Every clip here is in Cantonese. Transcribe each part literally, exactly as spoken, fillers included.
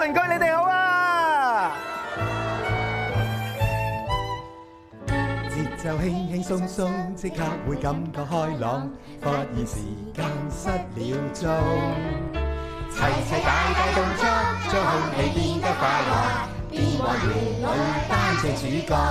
鄰居你哋好啊！節奏輕輕鬆鬆，即刻會感覺開朗，發現時間失了蹤。齊齊大大動作，將空氣變得快樂，變幻園裏擔正主角。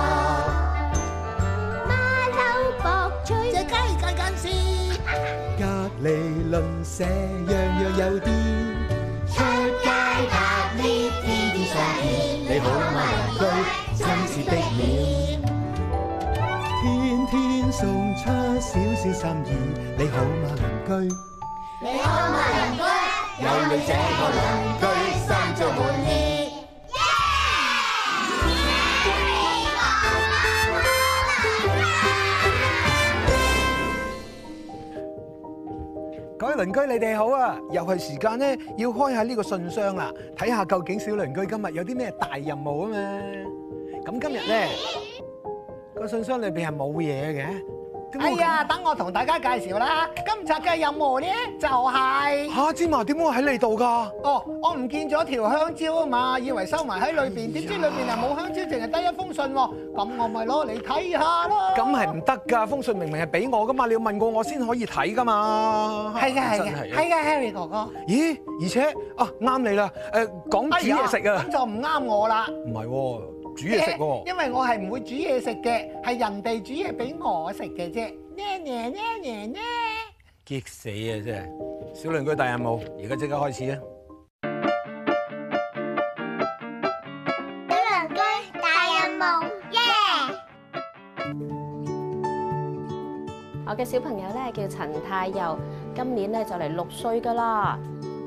馬騮博趣，隻雞近近視， 隔離鄰舍樣樣有啲。 出街拍呢天天相見， 你好嗎鄰居，親切的臉，天天送出少少心意。你好嗎鄰居， 你好嗎鄰居， 有你這個鄰居，心中滿意。各位鄰居你哋好啊！又係時間咧，要開下呢個信箱啦，睇下究竟小鄰居今日有啲咩大任務啊嘛。咁今日咧個信箱裏邊係冇嘢嘅。 哎呀，等我同大家介紹啦。今集嘅任務咧就係嚇芝麻點會喺你度㗎？ 哦，我唔見咗條香蕉啊嘛，以為收埋喺裏邊，點知裏邊係冇香蕉，淨係得一封信喎。咁我咪攞嚟睇下咯。 咁係唔得㗎，封信明明係俾我㗎嘛，你要問過我先可以睇㗎嘛。 係嘅，係真嘅，係嘅 ，Harry 哥哥。 咦？而且啊，啱你啦。誒，講煮嘢食啊。 咁就唔啱我啦。 唔係喎，煮嘢食喎。 因為我係唔會煮嘢食嘅，係人哋煮嘢俾我食嘅啫。咩咩咩咩咩！ 激死啊！真係小鄰居大任務，而家即刻開始啊！ 小鄰居大任務，耶！ 我嘅小朋友咧叫陳太佑，今年咧就嚟六歲噶啦。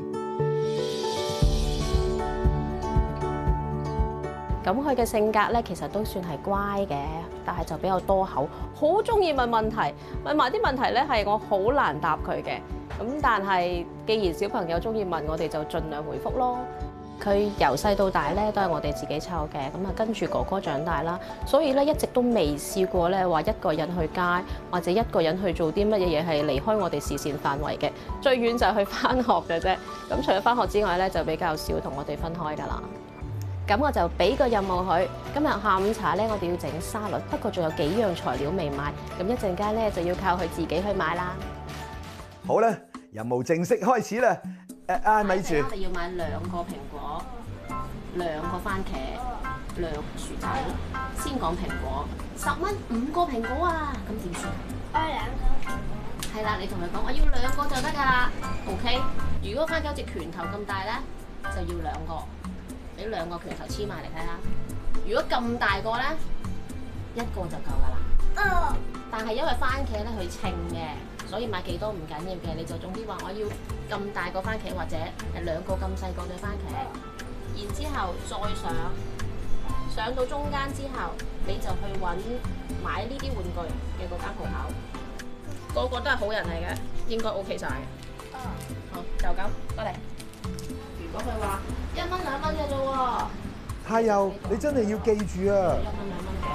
咁佢嘅性格咧，其實都算係乖嘅，但係就比較多口，好中意問問題，問埋啲問題咧係我好難答佢嘅。咁但係既然小朋友中意問，我哋就盡量回覆咯。佢由細到大咧都係我哋自己湊嘅，咁啊跟住哥哥長大啦，所以咧一直都未試過咧話一個人去街或者一個人去做啲乜嘢嘢係離開我哋視線範圍嘅，最遠就係去返學嘅啫。咁除咗返學之外咧，就比較少同我哋分開㗎啦。咁我就俾個任務佢，今日下午茶咧，我哋要整沙律，不過仲有幾樣材料未買，咁一陣間咧就要靠佢自己去買啦。 好啦，任務正式開始啦！誒啊，咪住！ 我哋要買兩個蘋果、兩個番茄、兩個薯仔。先講蘋果，十蚊五個蘋果啊，咁點算？ 我兩個。 係啦，你同佢講，我要兩個就得㗎啦。OK，如果番茄好似拳頭咁大咧，就要兩個。俾兩個拳頭黐埋嚟睇下，如果咁大個咧，一個就夠㗎啦。 哦。 但係因為番茄咧佢稱嘅，所以買幾多唔緊要嘅，你就總之話我要咁大個番茄或者係兩個咁細個嘅番茄，然之後再上上到中間之後，你就去揾買呢啲玩具嘅嗰間鋪頭，個個都係好人嚟嘅，應該 OK 晒嘅。 哦。 好，就咁，過嚟。如果佢話一蚊兩蚊嘅啫喎， 太佑，你真係要記住啊！ 一蚊兩蚊嘅，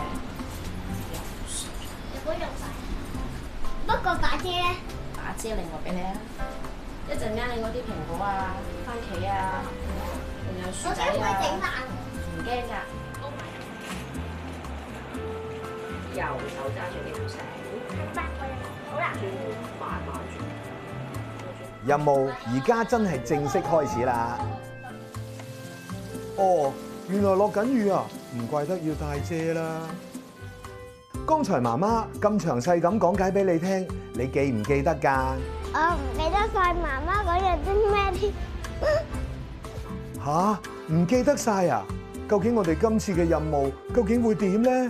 如果用晒，不過把遮咧， 打遮另外俾你啊！一陣間你嗰啲蘋果啊、番茄啊，仲有薯仔我驚會整啊， 爛。 唔驚㗎。右手揸住呢條繩， 好啦。 慢慢轉。 任務而家真係正式開始啦！哦，原來落緊雨啊，唔怪得要帶遮啦。剛才媽媽咁詳細咁講解俾你聽，你記唔記得㗎？ 我唔記得晒媽媽嗰日啲咩添。 吓？唔記得晒啊？究竟我哋今次嘅任務究竟會點咧？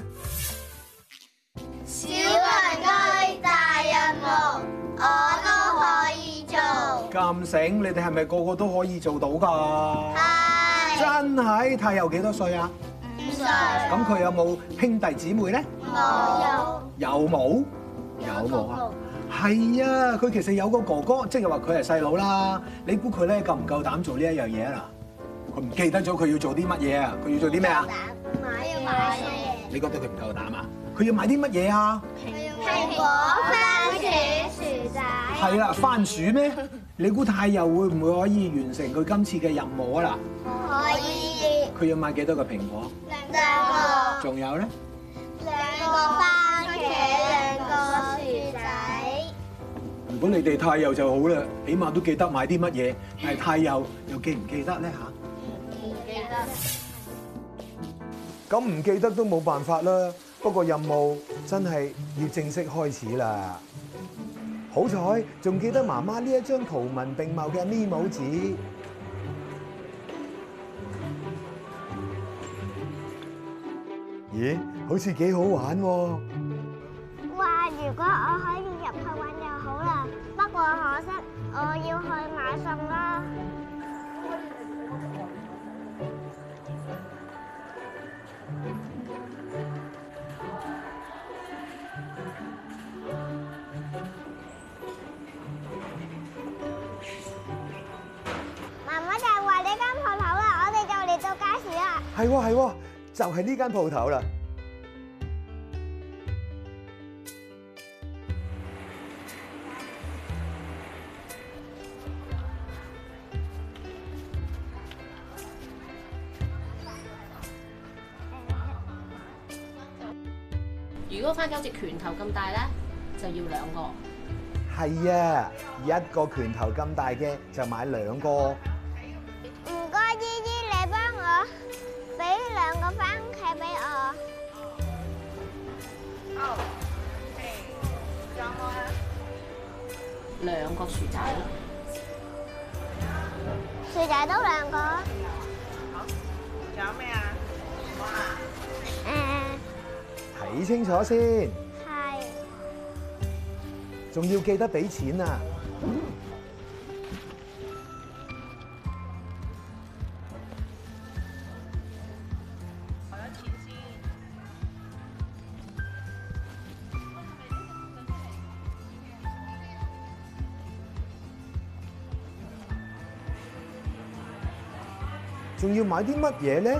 小鄰居大任務，我都可以做。 咁醒，你哋係咪個個都可以做到㗎？ 係。 真係，太佑幾多歲啊？ 五歲。 咁佢有冇兄弟姊妹咧？ 冇。 有冇？有冇啊？係啊，佢其實有個哥哥，即係話佢係細佬啦。你估佢咧夠唔夠膽做呢一樣嘢啊？嗱，佢唔記得咗佢要做啲乜嘢啊？佢要做啲咩啊？ 買要買嘢。 你覺得佢唔夠膽啊？佢要買啲乜嘢啊？ 蘋果、番茄、薯仔。 係啦，番薯咩？ 你估太佑會唔會可以完成佢今次嘅任務啊？嗱， 可以佢要買幾多個蘋果？ 兩個， 仲有咧？ 兩個番茄，兩個薯仔。 如果你哋太佑就好啦，起碼都記得買啲乜嘢。但係太佑又記唔記得咧嚇？ 唔記得。 咁唔記得都冇辦法啦。不過任務真係要正式開始啦。好彩仲記得媽媽呢一張圖文並茂嘅咪姆紙。咦，好似幾好玩喎！ 哇！如果我可以入去玩就好啦，不過可惜我要去買餸啦。媽媽就係話呢間鋪頭啦，我哋就嚟到街市啦。 係喎係喎，就係呢間鋪頭啦。 如果番茄好似拳頭咁大咧，就要兩個。 係啊，一個拳頭咁大嘅就買兩個。 唔該，姨姨，你幫我俾兩個番茄俾我。哦，仲有冇啊？ 兩個薯仔。 薯仔都兩個。 好，仲有咩啊？ 誒， 睇清楚先， 係。 仲要記得俾錢啊！ 攞咗錢先。 仲要買啲乜嘢咧？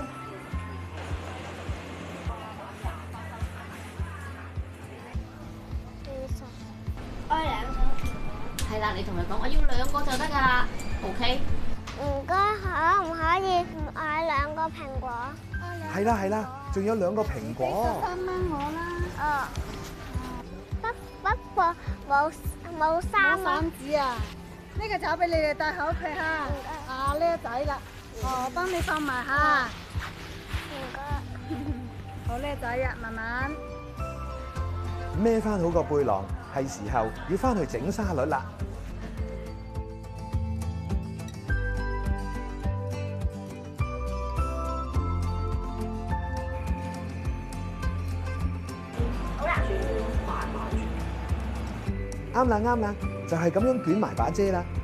我兩個。 係啦，你同佢講，我要兩個就得㗎啦。OK。 唔該，可唔可以買兩個蘋果？ 係啦係啦，仲有兩個蘋果。 三蚊我啦。哦。不不過冇冇三蚊。 散紙啊！呢個就俾你哋帶喺屋企嚇。啊，呢個仔啦，哦，幫你放埋嚇。 唔該。 好叻仔啊，慢慢。 孭翻好個背囊，係時候要翻去整沙律啦。 好啦。 啱啦啱啦，就係咁樣捲埋把遮啦。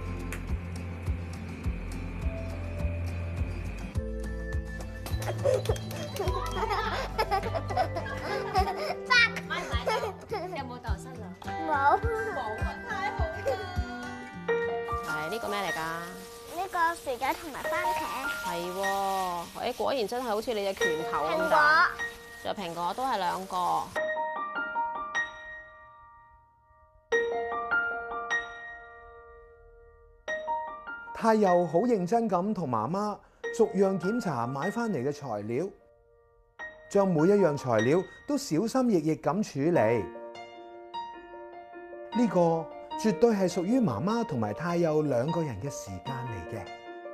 有冇豆濕啊？ 冇。 冇啊！太好啦！係呢個咩嚟㗎？ 呢個薯仔同埋番茄。 係喎，誒果然真係好似你隻拳頭咁蘋果。 大。仲有蘋果都係兩個。 太佑好認真咁同媽媽逐樣檢查買翻嚟嘅材料，將每一樣材料都小心翼翼咁處理。呢個絕對係屬於媽媽同埋太佑兩個人嘅時間嚟嘅。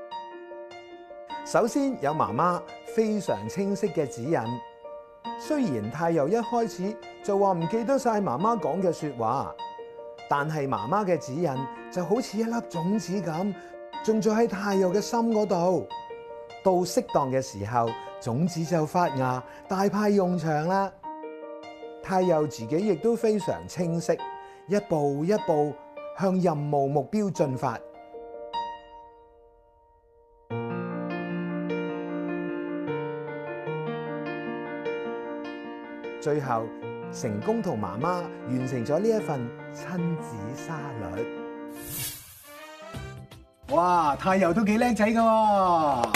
首先有媽媽非常清晰嘅指引，雖然太佑一開始就話唔記得晒媽媽講嘅說話，但係媽媽嘅指引就好似一粒種子咁，種咗喺太佑嘅心嗰度。到適當嘅時候，種子就發芽，大派用場啦。太佑自己亦都非常清晰，一步一步向任務目標進發。最後成功同媽媽完成咗呢一份親子沙律。 哇！太佑都幾叻仔㗎喎！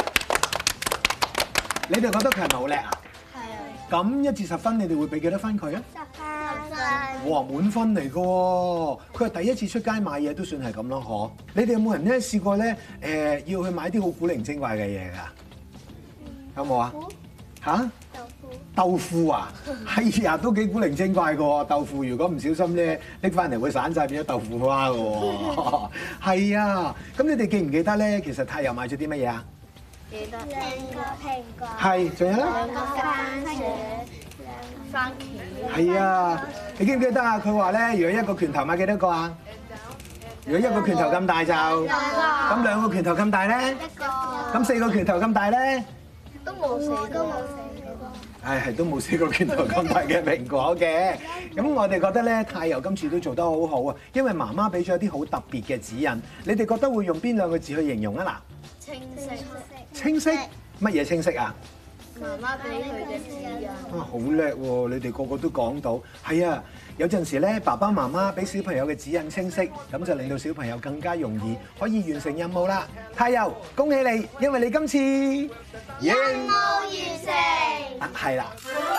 你哋覺得佢係咪好叻啊？ 係啊。 咁一至十分，你哋會俾幾多分佢啊？ 十分。 哇，滿分嚟㗎喎！佢係第一次出街買嘢都算係咁咯，嗬？你哋有冇人咧試過咧誒要去買啲好古靈精怪嘅嘢㗎？有冇啊？嚇？豆腐啊，係啊，都幾古靈精怪嘅喎。豆腐如果唔小心咧拎翻嚟會散晒變咗豆腐花嘅喎。係啊，咁你哋記唔記得咧？其實太陽買咗啲乜嘢啊？ 記得兩個蘋果。 係，仲有咧？ 兩個番茄。番茄。 係啊，你記唔記得啊？佢話咧，如果一個拳頭買幾多個啊？如果一個拳頭咁大就，咁兩個拳頭咁大咧？ 一個。 咁四個拳頭咁大咧？ 都冇四個，都冇四個。 唉，係都冇四個拳頭咁大嘅蘋果嘅。咁我哋覺得咧，太悠今次都做得好好啊，因為媽媽俾咗一啲好特別嘅指引。你哋覺得會用邊兩個字去形容啊？嗱， 清晰。 清晰？乜嘢清晰啊？ 媽媽俾佢嘅指引。 啊，好叻喎！你哋個個都講到。係啊，有陣時咧，爸爸媽媽俾小朋友嘅指引清晰，咁就令到小朋友更加容易可以完成任務啦。太悠，恭喜你，因為你今次任務完成。 啊，係啦。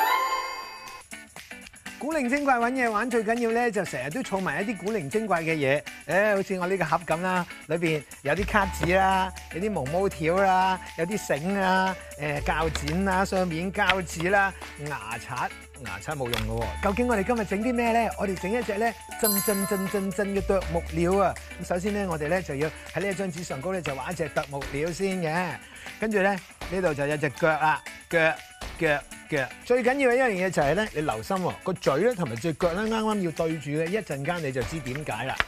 古靈精怪揾嘢玩，最緊要咧就成日都儲埋一啲古靈精怪嘅嘢，誒，好似我呢個盒咁啦，裏邊有啲卡紙啦，有啲毛毛條啦，有啲繩啊，誒膠剪啦，雙面膠紙啦，牙刷，牙刷冇用嘅喎。究竟我哋今日整啲咩咧？我哋整一隻咧真真真真真嘅啄木鳥啊！咁首先咧，我哋咧就要喺呢一張紙上高咧就畫一隻啄木鳥先嘅，跟住咧呢度就有隻腳啦，腳腳。最緊要嘅一樣嘢就係咧，你留心喎，個嘴咧同埋隻腳咧啱啱要對住嘅，一陣間你就知點解啦。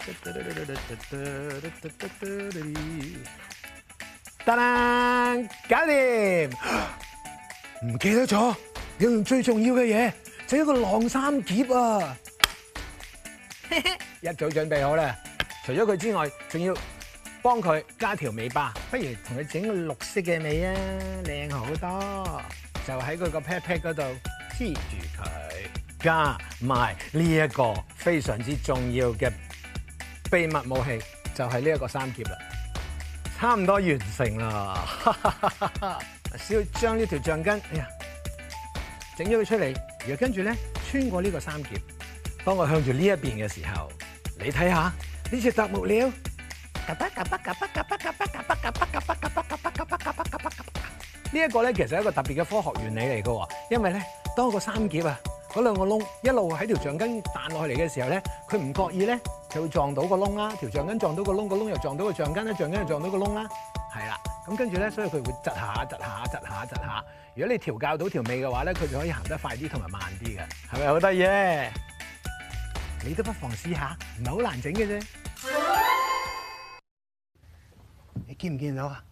得啦，搞掂。唔記得咗，要用最重要嘅嘢，就一個晾衫夾啊！一早準備好啦。除咗佢之外，仲要幫佢加條尾巴，不如同佢整個綠色嘅尾啊，靚好多。就喺佢個 pat pat 嗰度黐住佢，加埋呢一個非常之重要嘅秘密武器，就係呢一個三結啦，差唔多完成啦。只要將呢條橡筋，哎呀，整咗佢出嚟，然後跟住咧穿過呢個三結，當我向住呢一邊嘅時候，你睇下呢隻啄木鳥。呢一個咧其實係一個特別嘅科學原理嚟嘅喎，因為咧當個三結啊嗰兩個窿一路喺條橡筋彈落去嚟嘅時候咧，佢唔覺意咧就會撞到個窿啦，條橡筋撞到個窿，個窿又撞到個橡筋啦，橡筋又撞到個窿啦，係啦，咁跟住咧，所以佢會窒下窒下窒下窒下。如果你調教到條尾嘅話咧，佢就可以行得快啲同埋慢啲嘅，係咪好得意咧？你都不妨試下，唔係好難整嘅啫。你見唔見到啊？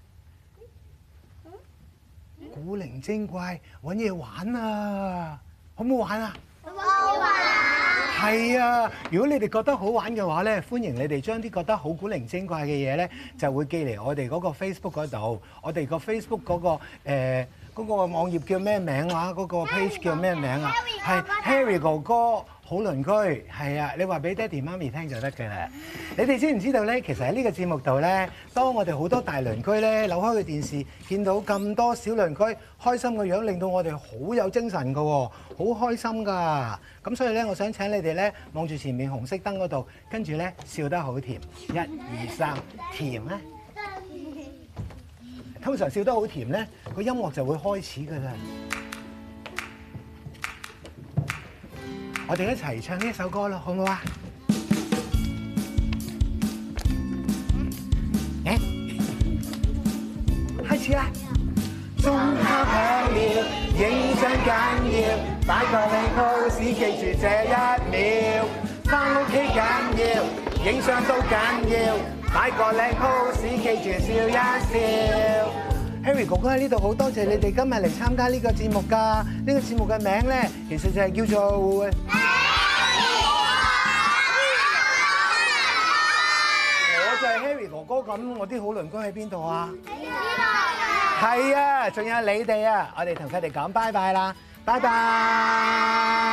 古靈精怪揾嘢玩啊，好唔好玩啊？ 好玩。 係啊，如果你哋覺得好玩嘅話咧，歡迎你哋將啲覺得好古靈精怪嘅嘢咧，就會寄嚟我哋嗰個 Facebook 嗰度。我哋個 Facebook 嗰個誒嗰個網頁叫咩名話？嗰個 page 叫咩名啊？係 Harry 哥哥好鄰居，係啊，你話俾爹哋媽咪聽就得嘅啦。你哋知唔知道咧？其實喺呢個節目度咧，當我哋好多大鄰居咧扭開個電視，見到咁多小鄰居開心嘅樣，令到我哋好有精神㗎喎，好開心㗎。咁所以咧，我想請你哋咧望住前面紅色燈嗰度，跟住咧笑得好甜，一二三，甜啊！通常笑得好甜咧，個音樂就會開始㗎啦。我哋一齊唱呢一首歌咯，好唔好啊？誒，開始啦！鐘敲響了，影相緊要，擺個靚 pose，記住這一秒。返屋企緊要，影相都緊要，擺個靚 pose，記住笑一笑。Harry 哥哥喺呢度，好多謝你哋今日嚟參加呢個節目㗎。呢個節目嘅名咧，其實就係叫做 Harry 我就係 Harry 哥哥咁，我啲好鄰居喺邊度啊？呢度。係啊，仲有你哋啊，我哋同佢哋講拜拜啦，拜拜。